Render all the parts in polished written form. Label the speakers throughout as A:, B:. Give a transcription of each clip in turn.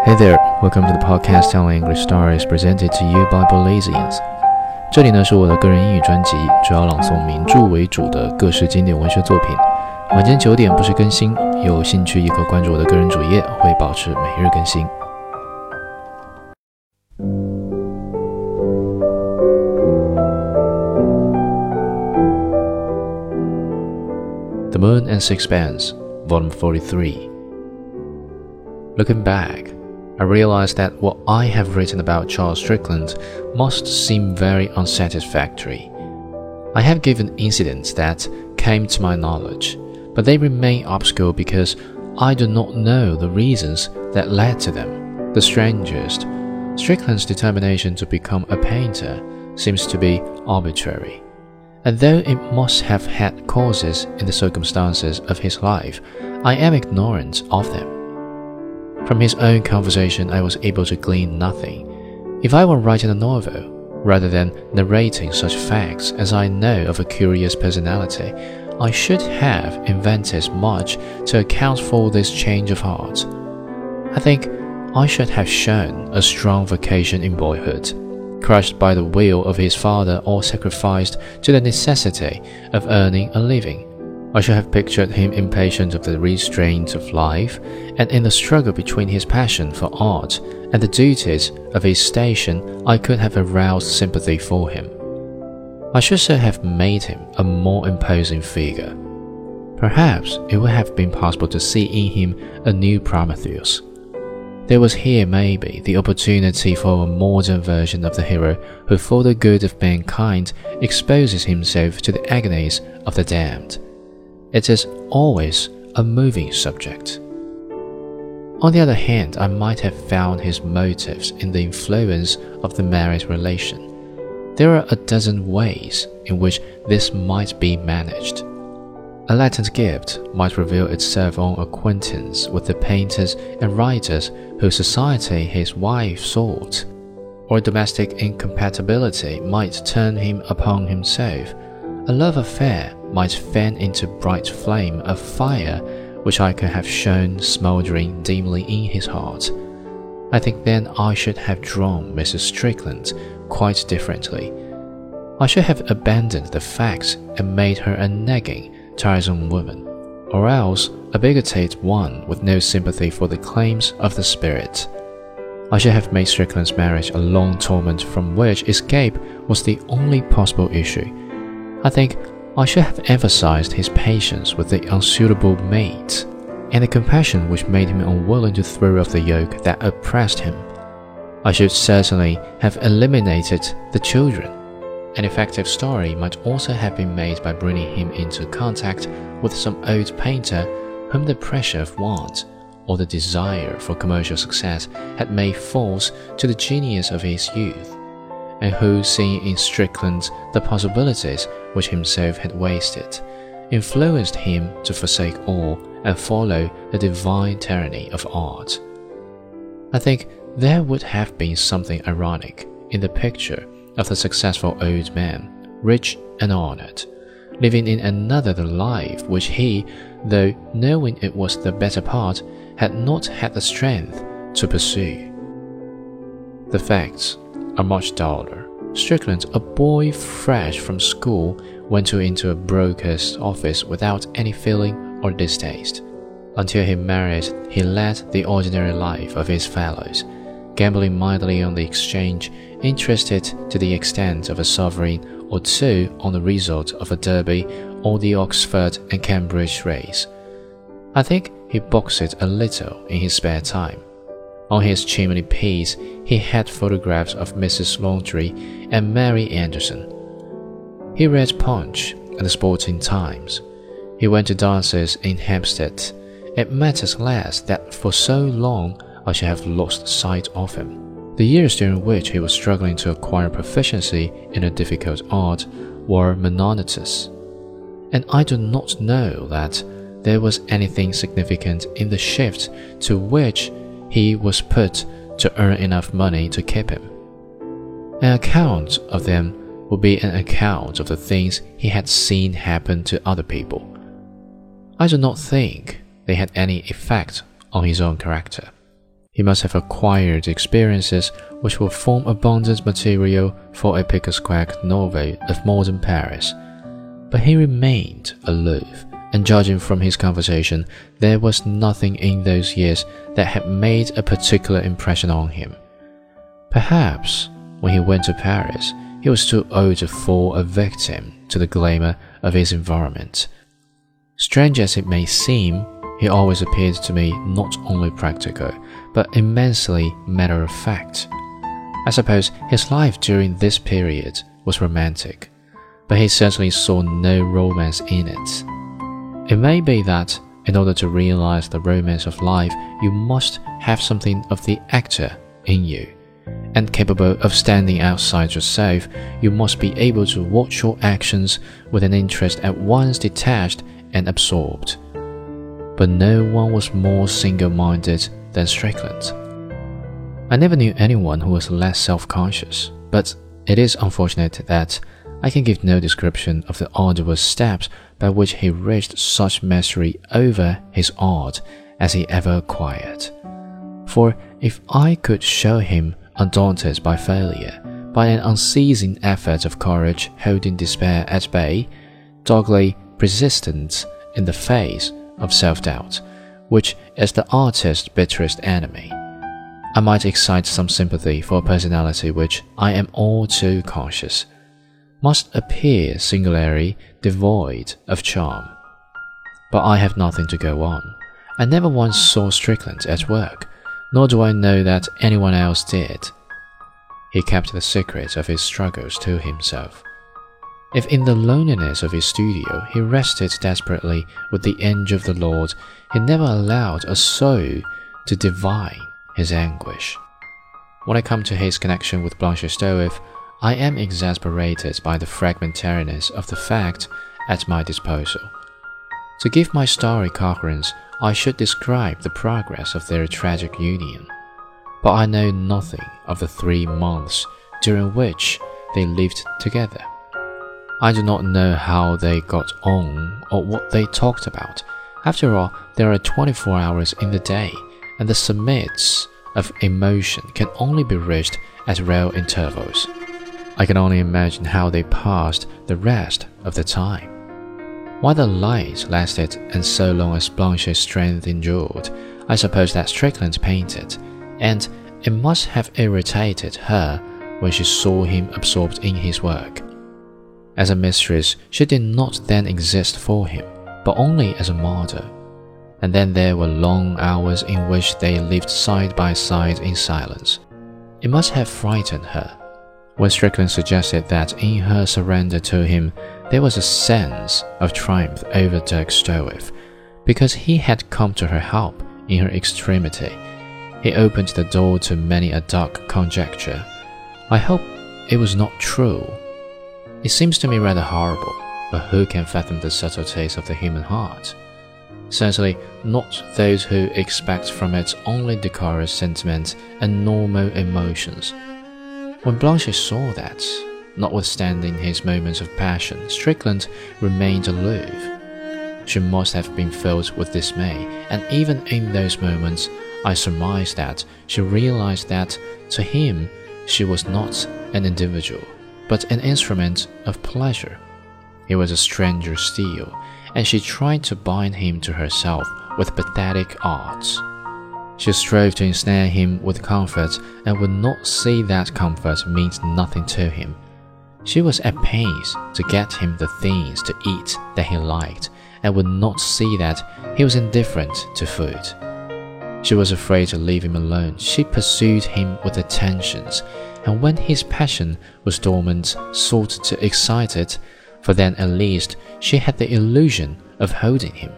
A: Hey there, welcome to the podcast Telling English Stories presented to you by Belizeans. 这里呢是我的个人英语专辑，主要朗诵名著为主的各式经典文学作品。晚间9点不时更新，有兴趣也可关注我的个人主页，会保持每日更新。The Moon and Sixpence, Volume 43. Looking back, I realized that what I have written about Charles Strickland must seem very unsatisfactory. I have given incidents that came to my knowledge, but they remain obscure because I do not know the reasons that led to them. The strangest, Strickland's determination to become a painter seems to be arbitrary. And though it must have had causes in the circumstances of his life, I am ignorant of them. From his own conversation, I was able to glean nothing. If I were writing a novel, rather than narrating such facts as I know of a curious personality, I should have invented much to account for this change of heart. I think I should have shown a strong vocation in boyhood, crushed by the will of his father or sacrificed to the necessity of earning a living. I should have pictured him impatient of the restraints of life, and in the struggle between his passion for art and the duties of his station, I could have aroused sympathy for him. I should so have made him a more imposing figure. Perhaps it would have been possible to see in him a new Prometheus. There was here maybe the opportunity for a modern version of the hero who for the good of mankind exposes himself to the agonies of the damned. It is always a moving subject. On the other hand, I might have found his motives in the influence of the marriage relation. There are a dozen ways in which this might be managed. A latent gift might reveal itself on acquaintance with the painters and writers whose society his wife sought, or domestic incompatibility might turn him upon himself. A love affair might fan into bright flame a fire which I could have shown smouldering dimly in his heart. I think then I should have drawn Mrs. Strickland quite differently. I should have abandoned the facts and made her a nagging, tiresome woman, or else a bigoted one with no sympathy for the claims of the spirit. I should have made Strickland's marriage a long torment from which escape was the only possible issue. I think I should have emphasized his patience with the unsuitable mate, and the compassion which made him unwilling to throw off the yoke that oppressed him. I should certainly have eliminated the children. An effective story might also have been made by bringing him into contact with some old painter whom the pressure of want or the desire for commercial success had made false to the genius of his youth, and who, seeing in Strickland the possibilities which himself had wasted, influenced him to forsake all and follow the divine tyranny of art. I think there would have been something ironic in the picture of the successful old man, rich and honored, living in another life which he, though knowing it was the better part, had not had the strength to pursue. The facts are much duller. Strickland, a boy fresh from school, went into a broker's office without any feeling or distaste. Until he married, he led the ordinary life of his fellows, gambling mildly on the exchange, interested to the extent of a sovereign or two on the result of a Derby or the Oxford and Cambridge race. I think he boxed a little in his spare time. On his chimney piece he had photographs of Mrs. Laundry and Mary Anderson. He read Punch and the Sporting Times. He went to dances in Hampstead. It matters less that for so long I should have lost sight of him. The years during which he was struggling to acquire proficiency in a difficult art were monotonous, and I do not know that there was anything significant in the shift to which he was put to earn enough money to keep him. An account of them would be an account of the things he had seen happen to other people. I do not think they had any effect on his own character. He must have acquired experiences which will form abundant material for a pick-a-squack novel of modern Paris. But he remained aloof, and judging from his conversation, there was nothing in those years that had made a particular impression on him. Perhaps, when he went to Paris, he was too old to fall a victim to the glamour of his environment. Strange as it may seem, he always appeared to me not only practical, but immensely matter-of-fact. I suppose his life during this period was romantic, but he certainly saw no romance in it. It may be that, in order to realize the romance of life, you must have something of the actor in you. And capable of standing outside yourself, you must be able to watch your actions with an interest at once detached and absorbed. But no one was more single-minded than Strickland. I never knew anyone who was less self-conscious, but it is unfortunate that I can give no description of the arduous steps by which he reached such mastery over his art as he ever acquired. For if I could show him undaunted by failure, by an unceasing effort of courage holding despair at bay, doggedly persistent in the face of self-doubt, which is the artist's bitterest enemy, I might excite some sympathy for a personality which, I am all too conscious, must appear singularly devoid of charm. But I have nothing to go on. I never once saw Strickland at work, nor do I know that anyone else did. He kept the secret of his struggles to himself. If in the loneliness of his studio he wrestled desperately with the angel of the Lord, he never allowed a soul to divine his anguish. When I come to his connection with Blanche Stroeve, I am exasperated by the fragmentariness of the fact at my disposal. To give my story coherence, I should describe the progress of their tragic union. But I know nothing of the 3 months during which they lived together. I do not know how they got on or what they talked about. After all, there are 24 hours in the day, and the summits of emotion can only be reached at rare intervals. I can only imagine how they passed the rest of the time. While the light lasted and so long as Blanche's strength endured, I suppose that Strickland painted, and it must have irritated her when she saw him absorbed in his work. As a mistress, she did not then exist for him, but only as a model. And then there were long hours in which they lived side by side in silence. It must have frightened her. When Strickland suggested that in her surrender to him there was a sense of triumph over Dirk Stroeve, because he had come to her help in her extremity, he opened the door to many a dark conjecture. I hope it was not true. It seems to me rather horrible, but who can fathom the subtleties of the human heart? Certainly not those who expect from it only decorous sentiment and normal emotions. When Blanche saw that, notwithstanding his moments of passion, Strickland remained aloof, she must have been filled with dismay, and even in those moments, I surmise that she realized that, to him, she was not an individual, but an instrument of pleasure. He was a stranger still, and she tried to bind him to herself with pathetic arts. She strove to ensnare him with comfort, and would not see that comfort meant nothing to him. She was at pains to get him the things to eat that he liked, and would not see that he was indifferent to food. She was afraid to leave him alone. She pursued him with attentions, and when his passion was dormant, sought to excite it, for then at least she had the illusion of holding him.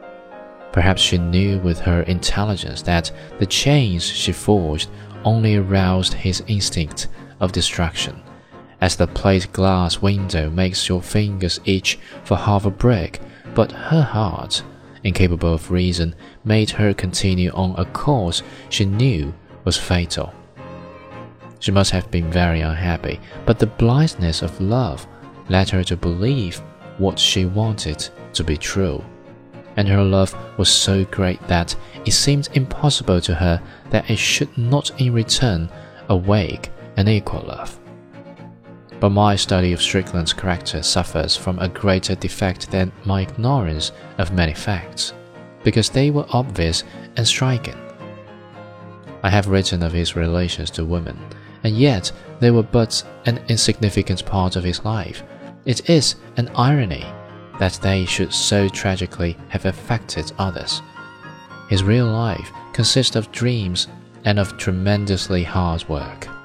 A: Perhaps she knew with her intelligence that the chains she forged only aroused his instinct of destruction, as the plate glass window makes your fingers itch for half a brick, but her heart, incapable of reason, made her continue on a course she knew was fatal. She must have been very unhappy, but the blindness of love led her to believe what she wanted to be true, and her love was so great that it seemed impossible to her that it should not in return awake an equal love. But my study of Strickland's character suffers from a greater defect than my ignorance of many facts, because they were obvious and striking. I have written of his relations to women, and yet they were but an insignificant part of his life. It is an irony that they should so tragically have affected others. His real life consists of dreams and of tremendously hard work.